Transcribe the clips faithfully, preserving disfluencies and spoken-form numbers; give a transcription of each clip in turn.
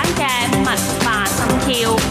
嘅文化心跳。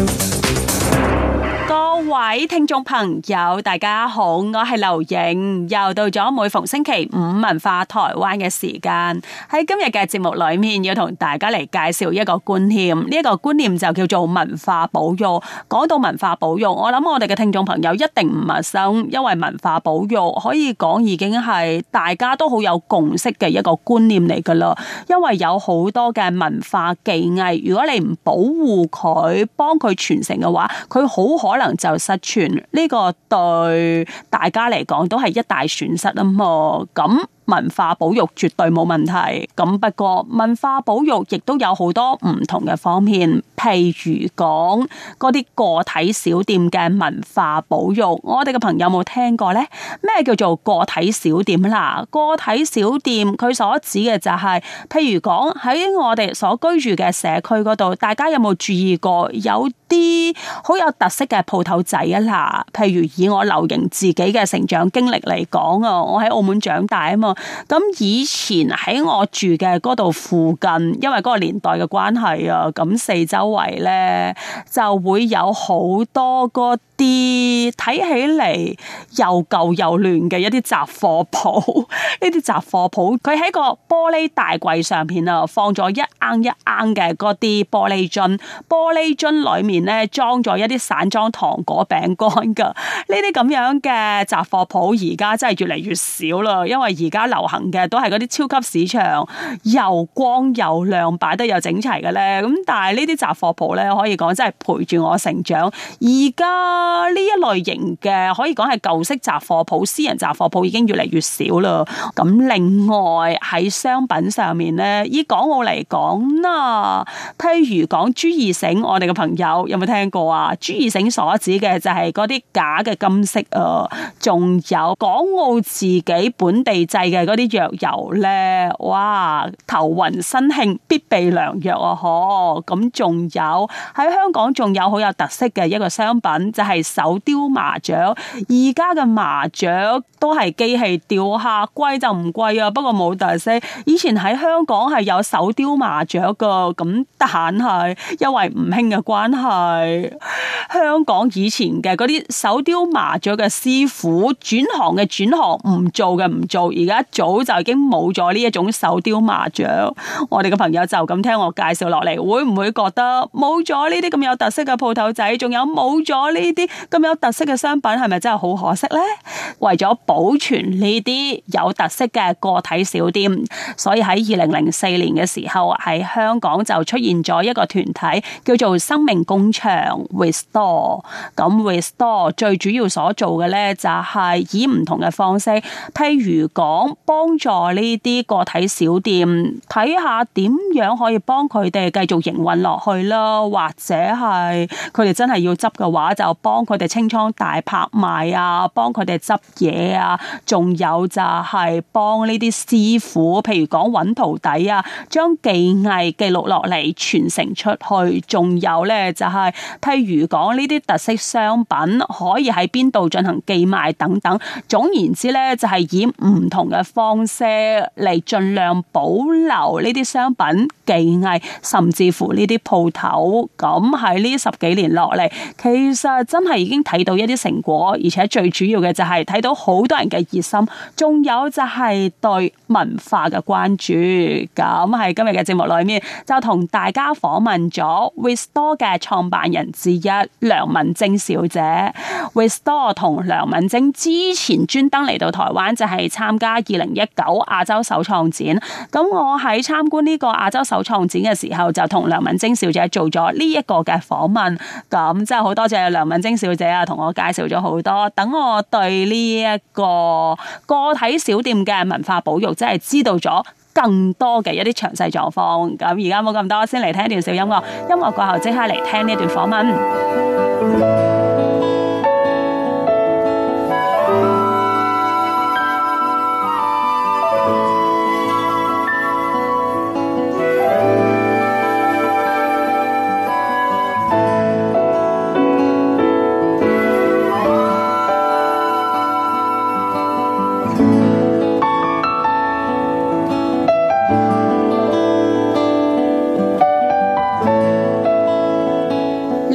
各位聽眾朋友，大家好，我係劉瑩，又到咗每逢星期五文化台灣嘅時間。喺今日嘅節目裏面，要同大家嚟介紹一個觀念，呢、這、一個觀念就叫做文化保育。講到文化保育，我諗我哋嘅聽眾朋友一定唔陌生，因為文化保育可以講已經係大家都好有共識嘅一個觀念嚟噶啦。因為有好多嘅文化技藝，如果你唔保護佢，幫佢傳承嘅話，佢好可能就失傳，呢個對大家嚟講都係一大損失啊嘛。咁文化保育絕對冇問題，咁不過文化保育亦都有好多唔同嘅方面，譬如講嗰啲個體小店嘅文化保育，我哋嘅朋友有冇聽過呢？咩叫做個體小店啦？個體小店佢所指嘅就係、是，譬如講喺我哋所居住嘅社區嗰度，大家有冇注意過有啲好有特色嘅鋪頭仔啊啦？譬如以我劉瑩自己嘅成長經歷嚟講啊，我喺澳門長大啊嘛。咁以前喺我住嘅嗰度附近，因為嗰個年代嘅關係啊，咁四周圍咧就會有好多嗰啲睇起嚟又舊又亂嘅一啲雜貨鋪。呢啲雜貨鋪佢喺個玻璃大櫃上邊啊，放咗一罌一罌嘅嗰啲玻璃樽，玻璃樽裏面咧裝咗一啲散裝糖果餅乾噶。呢啲咁樣嘅雜貨鋪而家真係越嚟越少啦，因為而家流行嘅都係嗰啲超級市場，又光又亮，擺得又整齊嘅咧。咁但係呢啲雜貨鋪咧，可以講真係陪住我成長。而家呢一類型嘅可以講係舊式雜貨鋪、私人雜貨鋪已經越嚟越少啦。咁另外喺商品上面咧，以港澳嚟講啦，譬如講朱義盛，我哋嘅朋友有冇聽過啊？朱義盛所指嘅就係嗰啲假嘅金飾啊，仲有港澳自己本地製嘅嗰啲藥油咧，哇，頭暈身慶必備良藥啊！嗬，咁仲有喺香港仲有好有特色嘅一個商品，就係、是、手雕麻雀。而家嘅麻雀都係機器雕下，貴就唔貴啊，不過冇特色。以前喺香港係有手雕麻雀噶，咁但係因為唔興嘅關係，香港以前嘅嗰啲手雕麻雀嘅師傅轉行嘅轉行，唔做嘅唔做，而家早就已經冇咗呢一種手雕麻雀。我哋嘅朋友就咁聽我介紹落嚟，會唔會覺得冇咗呢啲咁有特色嘅鋪頭仔，仲有冇咗呢啲咁有特色嘅商品，係咪真係好可惜呢？為咗保存呢啲有特色嘅個體小店，所以喺二零零四年嘅時候喺香港就出現咗一個團體叫做生命工場 Restore。 咁 Restore 最主要所做嘅呢，就係以唔同嘅方式，譬如講幫助呢啲個體小店睇下點樣可以幫佢哋繼續營運落去啦，或者係佢哋真係要執嘅話，就幫佢哋清倉大拍賣啊，幫佢哋執嘢啊，仲有就係幫呢啲師傅，譬如講揾徒弟啊，將技藝記錄落嚟傳承出去，仲有呢，就係譬如講呢啲特色商品可以喺邊度進行寄賣等等。總言之呢，就係以唔同嘅方式嚟盡量保留呢啲商品技藝，甚至乎呢啲鋪頭。咁喺呢十幾年落嚟，其實真係已經睇到一啲成果，而且最主要嘅就係睇到好多人嘅熱心，仲有就係對文化嘅關注。咁喺今日嘅節目裏面，就同大家訪問咗 Restore 嘅創辦人之一梁敏貞小姐。Restore 同梁敏貞之前專登嚟到台灣，就係參加二零一九亞洲手創展。咁我喺參觀呢個亞洲手創展嘅時候，就同梁敏貞小姐做咗呢一個嘅訪問。咁真係好多謝梁敏貞小姐啊，同我介紹咗好多，等我對呢一個個體小店嘅文化保育真係知道咗更多嘅一啲詳細狀況。咁而家冇咁多，先嚟聽一段小音樂，音樂過後即刻嚟聽呢段訪問。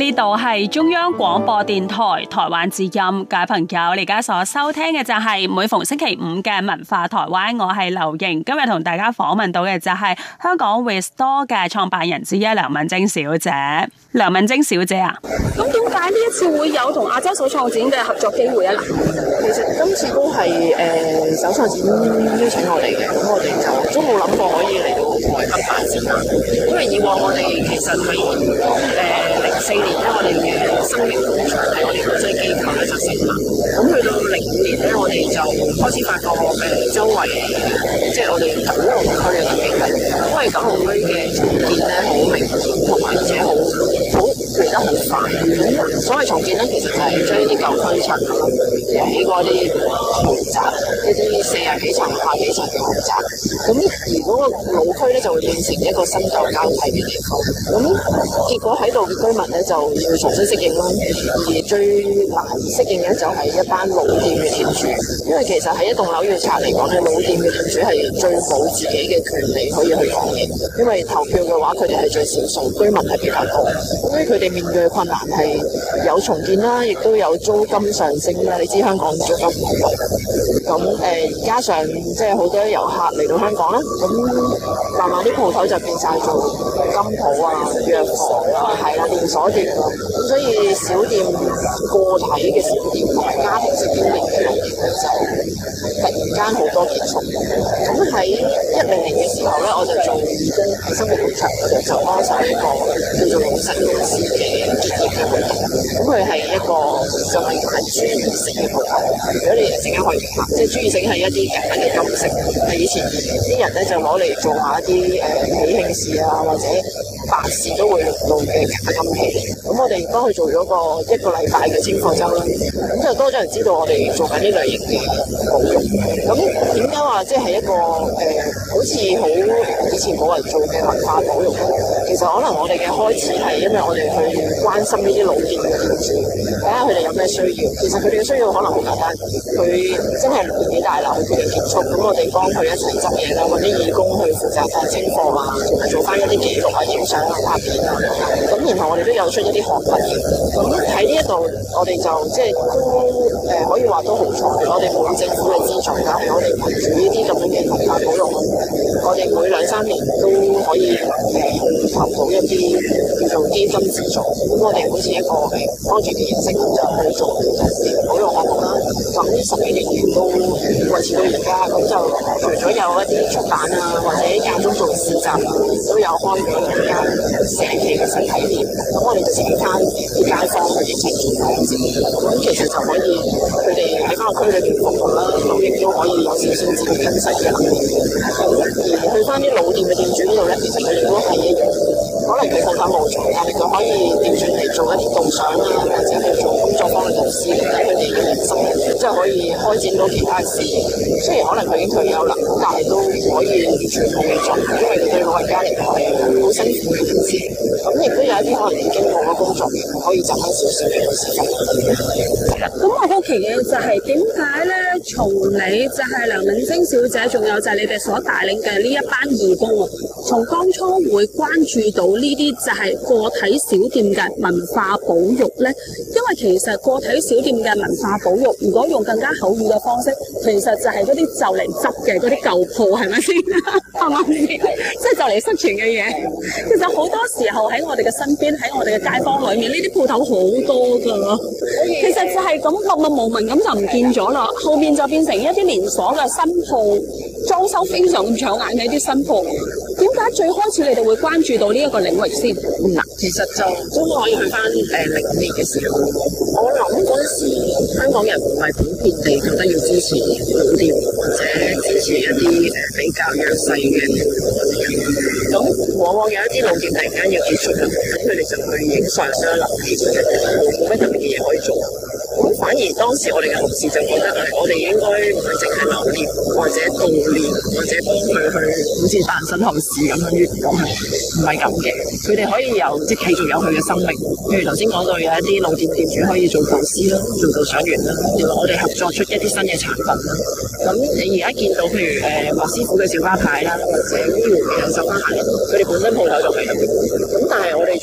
呢度係中央廣播電台台灣之音，各位朋友，你而家所收聽嘅就係每逢星期五嘅文化台灣，我係劉瑩。今日同大家訪問到嘅就係香港 Restore 嘅創辦人之一梁敏貞小姐。梁敏貞小姐啊， 咁點解呢一次會有同亞洲手創展嘅合作機會啊？嗱， 其實今次都係誒、呃、手創展邀請我哋嘅，咁我哋就都冇諗過可以嚟到台北辦展覽，因為以往我哋其實係誒零四年咧，我哋嘅生命工場係我哋國際機構咧就成立，咁去到零五年咧，我哋就開始發覺誒、呃、周圍即係我哋九龍區嘅地區，因為九龍區嘅重建咧好明顯，同埋而且好好嚟得好快。咁所謂重建咧，其實就係將啲舊區拆咗，起過啲豪宅，一啲四十幾層、百幾層嘅豪宅。咁而嗰個老區咧就會變成一個新舊交替嘅地方。咁結果喺度嘅居民咧就要重新適應啦。而最難適應嘅就係一班老店嘅店主，因為其實喺一棟樓要拆嚟講咧，老店嘅店主係最冇自己嘅權利可以去講嘢，因為投票嘅話佢哋係最少數，居民係比較多，所以佢哋面對嘅困難係有重建啦，亦都有租金上升啦。你知香港租金唔好貴，咁誒加上即係好多遊客嚟到香港啦，咁慢慢啲鋪頭就變晒做金鋪啊、藥房啊，係啦，連鎖店啊，咁所以小店個體嘅小店同埋家庭式經營嘅店咧就突然間好多結束。咁喺一零年嘅時候咧，我就做義工喺生活工場嗰度就幫手一個叫做老實公司嘅結業嘅活動。咁佢係一個就係係豬耳石嘅鋪頭。如果你陣間可以拍，即係豬耳石係一啲簡單嘅金色，係以前啲人咧就攞嚟做下一啲誒喜慶事啊，或者白事都會用到嘅假金器。咁我哋幫佢做咗個一個禮拜嘅清貨周啦，咁就多咗人知道我哋做緊呢類型嘅保育。咁點解話即係一個誒、呃、好似好以前冇人做嘅文化保育咧？其實可能我哋嘅開始係因為我哋去關心呢啲老店嘅店主，睇下佢哋有咩需要。其實佢哋嘅需要可能好簡單，佢真係年紀大啦，佢哋結束，咁我哋幫佢一齊執嘢啦，揾啲義工去負責翻清貨啊，同埋做翻一啲記錄啊、影相啊、拍片啊。咁然後我哋都有出一啲學品嘅。咁喺呢一度，我哋就即係都誒、呃、可以話都好彩，我哋冇政府嘅資助，但係我哋憑住呢啲咁樣嘅文化保育，我哋每兩三年都可以誒投到一啲叫做基金資助。咁我哋好似一個誒 project 嘅形式咁就去做保育項目啦。咁十幾年前都維持到而家，咁就除咗有一啲出版啊，或者間中做市集，都有開咗兩間社企嘅實體店。咁我哋就請翻啲街坊去一齊做講座，咁其實就可以佢哋喺翻個區裏邊服務啦，咁亦都可以有少少自己分析嘅能力。而去翻啲老店嘅店主呢度咧，其實佢哋都係一樣，可能佢鋪頭冇做，但係佢可以調轉嚟做一啲導賞啊，或者去做工作坊嘅導師，令到佢哋嘅人生即係可以開展到其他嘅事業。雖然可能佢已經退休啦，但係都可以全部嘅做，因為佢對老人家嚟講係好辛苦嘅件事。咁亦都有一啲可能已經冇咗工作嘅，可以賺翻少少嘅時間。 咁我好奇嘅就係點解咧？從你就係梁敏貞小姐，仲有就係你哋所帶領嘅呢一班義工啊，從當初會關注到呢啲就係個體小店嘅文化保育咧，因為其實個體小店嘅文化保育，如果用更加口語嘅方式，其實就係嗰啲就嚟執嘅嗰啲舊鋪，係咪先？啱唔啱先？即係就嚟失傳嘅嘢。其實好多時候喺我哋嘅身邊，喺我哋嘅街坊裏面，呢啲鋪頭好多㗎。其實就係咁默默無聞咁就唔見咗啦，後面就變成一啲連鎖嘅新鋪，裝修非常咁搶眼嘅一啲新鋪。點解最開始你哋會關注到呢一個領域先？ 嗱、嗯，其實就都可以去翻誒零五年嘅時候，我諗嗰陣時香港人唔係普遍地覺得要支持老店或者支持一啲誒比較弱勢嘅咁往往有一啲老店突然間要結束啦，咁佢哋就去影相啦、留念，冇咩特別嘅嘢可以做。咁反而當時我哋嘅同事就覺得誒，我哋應該唔係淨係留念或者悼念或者幫佢去好似辦身後事咁樣，咁係唔係咁嘅？佢哋可以有即係繼續有佢嘅生命。譬如頭先講到有一啲老店店主可以做導師啦，做導賞員啦，然後我哋合作出一啲新嘅產品啦。咁你而家見到譬如誒莫師傅嘅小巴牌啦，或者呢條嘅繡花鞋，佢哋本身鋪頭就係咁，咁但係我哋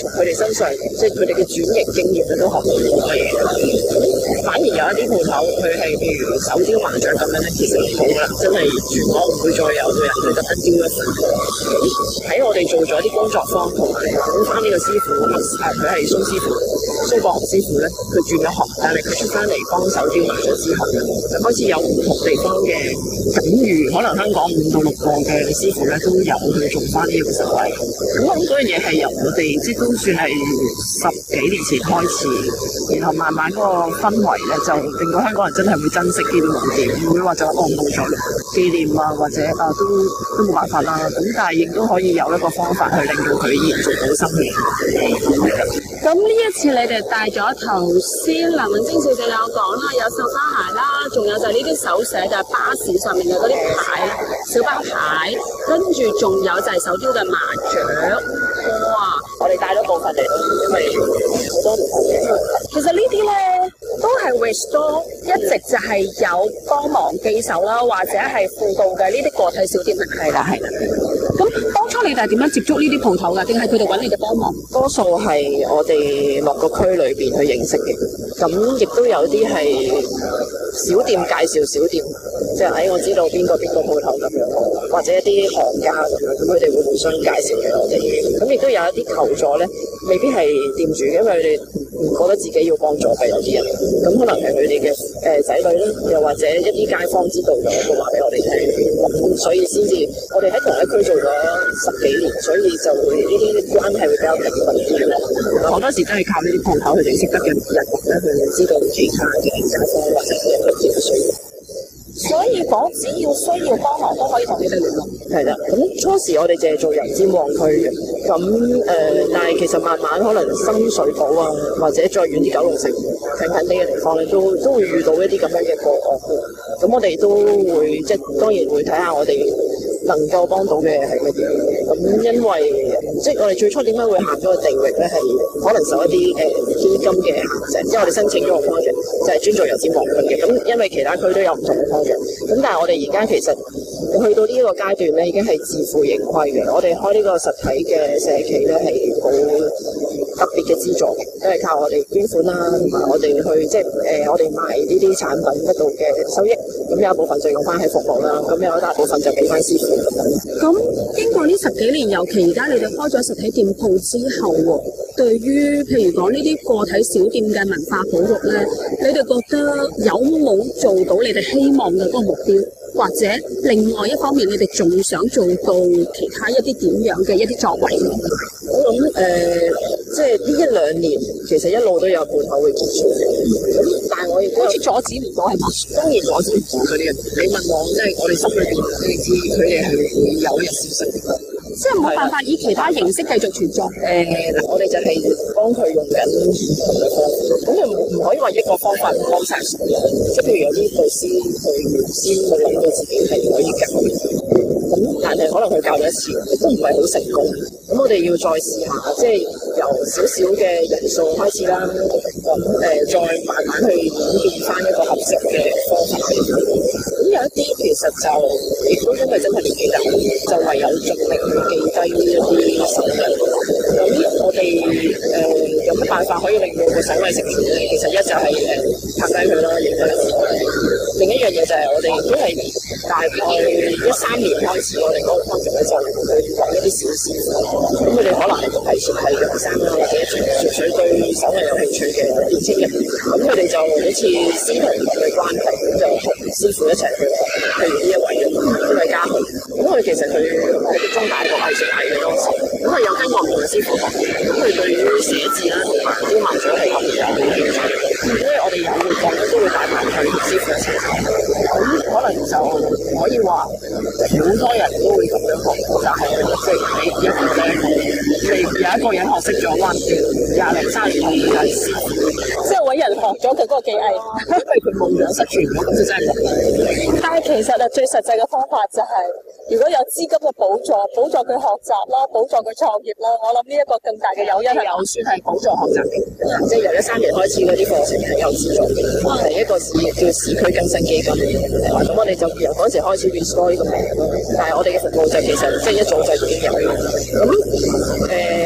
從佢哋身上，即係佢哋嘅轉型經驗咧，都學到好多嘢。咁反而有一啲鋪頭，佢係譬如手雕麻雀咁樣咧，其實冇啦，真係全港唔會再有個人去特登雕一份。喺我哋做咗啲工作坊同埋揾翻呢個師傅，啊佢係蘇師傅、蘇國雄師傅咧，佢轉咗行，但係佢出翻嚟幫手雕麻雀之後咧，就開始有唔同地方嘅境遇，可能香港五到六個嘅師傅咧都有去做翻呢個實例。咁我諗嗰樣嘢係由我哋即係都算係十幾年前開始，然後慢慢嗰個氛圍咧就令到香港人真係會珍惜呢啲老店，唔會話就哦冇咗紀念啊，或者啊都都冇辦法啦。咁但係亦都可以有一個方法去令到佢延續到生命。 咁呢一次你哋帶咗頭先梁敏貞小姐有講啦，有繡花鞋啦，仲有就係呢啲手寫就係巴士上面嘅嗰啲牌，小巴牌，跟住仲有就係手雕嘅麻雀。哇！ 我哋帶咗部分嚟，因為好多唔同嘅。 其實呢啲咧都係 restore 一直就係有幫忙記手啦，或者係輔導嘅呢啲個體小店係啦，係啦。咁當初你哋係點樣接觸呢啲鋪頭㗎？定係佢哋揾你哋幫忙？ 多數係我哋落個區裏邊去認識嘅，咁亦都有啲係小店介紹小店，即係喺我知道邊個邊個鋪頭咁樣，或者一啲行家咁樣，咁佢哋會互相介紹俾我哋。咁亦都有一啲求助咧，未必係店主，因為佢哋唔覺得自己要幫助嘅有啲人，咁可能係佢哋嘅誒仔女啦，又或者一啲街坊知道咗，會話俾我哋聽，咁所以先至我哋喺同一區做咗十幾年，所以就會呢啲關係會比較緊密啲咯。好多時都係靠呢啲鋪頭佢哋識得嘅人咧，去知道其他嘅街坊或者嘅佢哋嘅需要。 所以講只要需要幫忙都可以同你哋聯絡。 係啦，咁初時我哋淨係做油尖旺區嘅，咁誒、呃，但係其實慢慢可能深水埗啊，或者再遠啲九龍城近近啲嘅地方咧，都都會遇到一啲咁樣嘅個案嘅。咁我哋都會即係當然會睇下我哋能夠幫到嘅係乜嘢。咁因為即係我哋最初點解會行咗個地域咧，係可能受一啲誒、呃、基金嘅限制，即係我哋申請咗個 project 就係專做油尖旺區嘅。咁因為其他區都有唔同嘅 project，咁但係我哋而家其實去到呢一個階段咧，已經係自負盈虧嘅。我哋開呢個實體嘅社企咧係好特別嘅資助嘅，都係靠我哋捐款啦，同埋我哋去即係誒、呃、我哋賣呢啲產品得到嘅收益，咁有一部分就用翻喺服務啦，咁有一大部分就俾翻師傅咁樣。 咁經過呢十幾年，尤其而家你哋開咗實體店鋪之後喎，對於譬如講呢啲個體小店嘅文化保育咧，你哋覺得有冇做到你哋希望嘅嗰個目標？或者另外一方面，你哋仲想做到其他一啲點樣嘅一啲作為？ 我諗誒、呃，即係呢一兩年，其實一路都有鋪頭會結束嘅。咁但係我亦都好似阻止唔到係嘛？當然阻止唔到嗰啲人。你問我，即係我哋心裏邊你知，佢哋係會有一日消失嘅。 即係冇辦法以其他形式繼續存在。誒嗱、呃，我哋就係幫佢用緊唔同嘅方法，咁佢唔唔可以話一個方法幫晒所有。即係譬如有啲導師佢原先佢諗到自己係可以教嘅，咁但係可能佢教咗一次都唔係好成功。咁我哋要再試下，即係由少少嘅人數開始啦，咁誒、呃、再慢慢去演變翻一個合適嘅方法。咁有一啲其實就亦都因為真係年紀大，就唯有盡力去記低呢一啲手藝。咁我哋誒、呃、有乜辦法可以令到個手藝成全咧？其實一就係誒拍低佢啦，影低佢。另一樣嘢就係我哋都係大概一三年開始，我哋嗰個 project 咧就去揾一啲小師傅。咁佢哋可能係前係學生啦，或者純粹對手藝有興趣嘅年輕人。咁佢哋就好似師徒嘅關係，咁就同師傅一齊去，譬如呢一位呢位家豪。咁佢其實佢係中大學藝術系嘅當時，咁佢有跟過唔同嘅師傅學，咁佢對於寫字啦同埋啲麻雀係特別有興趣。所以我哋有活動咧都會帶埋佢同師傅一齊。咁可能就可以話好多人都會咁樣學，但係即係你一個咧，你有一個人學識咗，哇！廿零三年後就係師傅， 即係揾人學咗佢嗰個技藝， 因為佢夢想失傳咗，咁就真係冇。 但係其實啊，最實際嘅方法就係、是，如果有資金嘅補助，補助佢學習啦，補助佢創業啦，我諗呢一個更大嘅誘因係有算係補助學習嘅，即係由一三年開始嗰啲課程係有資助嘅，係一個市叫市區更新基金。咁我哋就由嗰陣時開始 restore 呢個名咯，但係我哋嘅服務就其實即係一早就已經有嘅。咁誒、呃，你話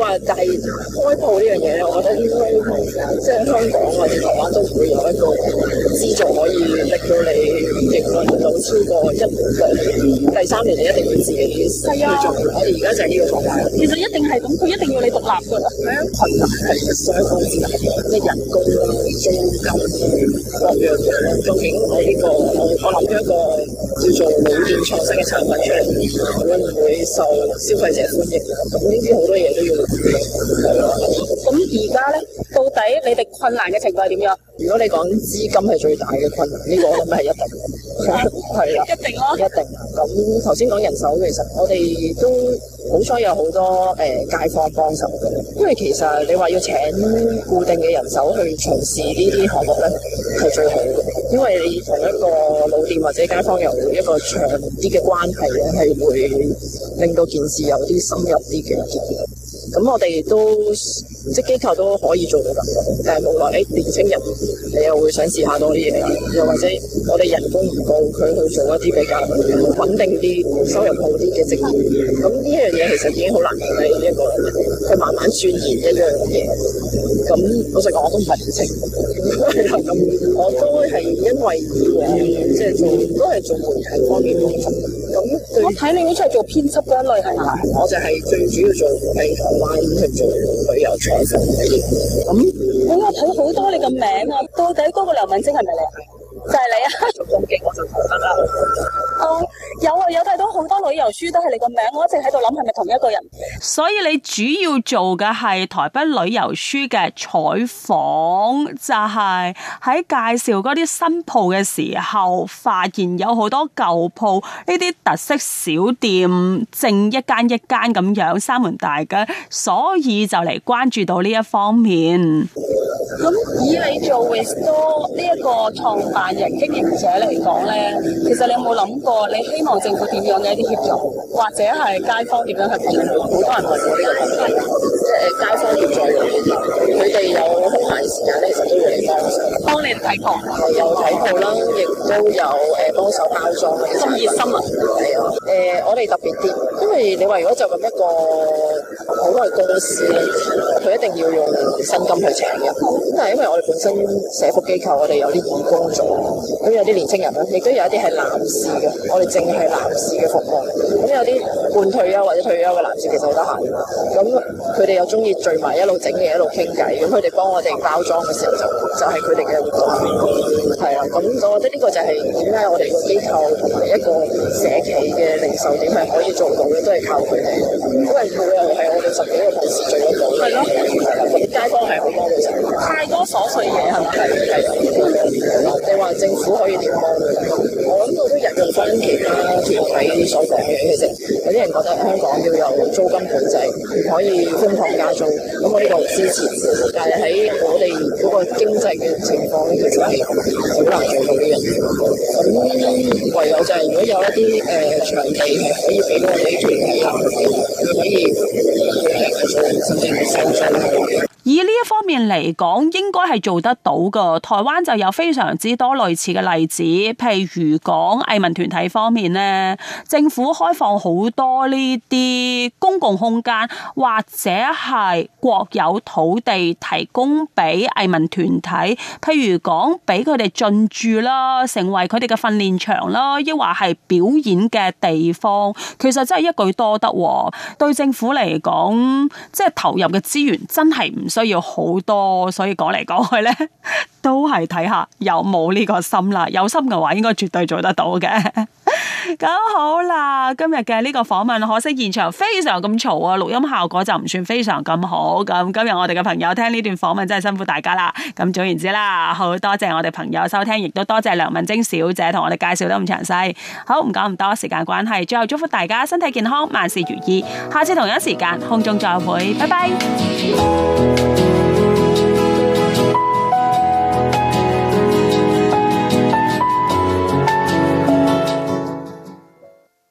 話但係開鋪呢樣嘢咧，我覺得應該即係香港或者台灣都會有一個資助可以令到你營運到超過一兩第三年，你一定要自己去做。我哋而家就係呢個狀態。 其實一定係咁，佢一定要你獨立㗎啦。 係啊，困難係相當之大，咩人工啦、租金各樣嘢。究竟我呢個我我諗咗一個叫做老店創新嘅產品出嚟，會唔會受消費者歡迎？咁呢啲好多嘢都要係咯。 咁而家咧，到底你哋困難嘅程度係點樣？ 如果你講資金係最大嘅困難，呢、這個我諗係一定嘅，係啦， 一定咯， 一定。咁頭先講人手，其實我哋都好彩有好多誒、呃、街坊幫手嘅，因為其實你話要請固定嘅人手去從事呢啲項目咧，係最好嘅，因為你同一個老店或者街坊有一個長啲嘅關係咧，係會令到件事有啲深入啲嘅結結。咁我哋都即係機構都可以做到咁，但係冇話誒年青人你又會想試下多啲嘢，又或者我哋人工唔高，佢去做一啲比較穩定啲、收入好啲嘅職業。咁呢一樣嘢其實已經好難嘅一個，佢慢慢鑽研一樣嘢。咁老實講，我都唔係年青，咁我都係因為以往即係做都係做媒體方面工作。咁我睇你好似係做編輯嗰一類係嘛？ 我就係最主要做喺台灣去做旅遊採訪嗰啲。咁我有睇好多你個名啊，到底嗰個梁敏貞係咪你啊？就係你啊！ 做咁勁我就投得啦。 哦，有啊，有睇到好多旅遊書都係你個名，我一直喺度諗係咪同一個人？ 所以你主要做嘅係台北旅遊書嘅採訪，就係喺介紹嗰啲新鋪嘅時候，發現有好多舊鋪呢啲特色小店，正一間一間咁樣三門大吉，所以就嚟關注到呢一方面。 咁以你做 Restore 呢一個創辦人經營者嚟講咧，其實你有冇諗過你希望政府點樣嘅一啲協助，或者係街坊點樣去協助？ 好多人問我呢個問題，即係街坊協助佢哋有空閒時間咧，其實都會嚟幫手， 幫你睇鋪， 有睇鋪啦，亦都有誒幫手包裝嘅。 咁熱心啊！ 係啊，誒我哋特別啲，因為你話如果就咁一個好多嘅公司咧，佢一定要用薪金去請嘅。咁但係因為我哋本身社福機構，我哋有啲義工做，咁有啲年青人啦，亦都有一啲係男士嘅，我哋淨係男士嘅服務。咁有啲半退休或者退休嘅男士其實好得閒，咁佢哋又中意聚埋一路整嘢一路傾偈，咁佢哋幫我哋包裝嘅時候就就係佢哋嘅活動，係啊。咁我覺得呢個就係點解我哋個機構同埋一個社企嘅零售點係可以做到嘅，都係靠佢哋，因為佢又係我哋十幾個同事聚得到，係咯，街坊係好幫到手。 太多瑣碎嘢係咪？ 係係，你話政府可以點幫？我諗到都引用翻其他團體所講嘅，其實有啲人覺得香港要有租金管制，唔可以瘋狂加租，咁我呢個唔支持。但係喺我哋嗰個經濟嘅情況咧，其實係好難做到呢樣嘢。咁唯有就係如果有一啲誒、呃、場地係可以俾我哋啲團體行，可以誒做甚至係收租。 以呢一方面嚟講，應該係做得到㗎。台灣就有非常之多類似嘅例子，譬如講藝文團體方面呢，政府開放好多呢啲公共空間，或者係國有土地提供俾藝文團體，譬如講俾佢哋進駐啦，成為佢哋嘅訓練場啦，抑或係表演嘅地方，其實真係一舉多得。對政府嚟講，即係投入嘅資源真係唔需要好多，所以講嚟講去咧，都係睇下有冇呢個心啦。有心嘅話，應該絕對做得到嘅。咁好啦，今日嘅呢個訪問，可惜現場非常咁嘈啊，錄音效果就唔算非常咁好。咁今日我哋嘅朋友聽呢段訪問真係辛苦大家啦。咁總言之啦，好多謝我哋朋友收聽，亦都多謝梁敏貞小姐同我哋介紹得咁詳細。好，唔講咁多，時間關係，最後祝福大家身體健康，萬事如意。下次同一時間空中再會，拜拜。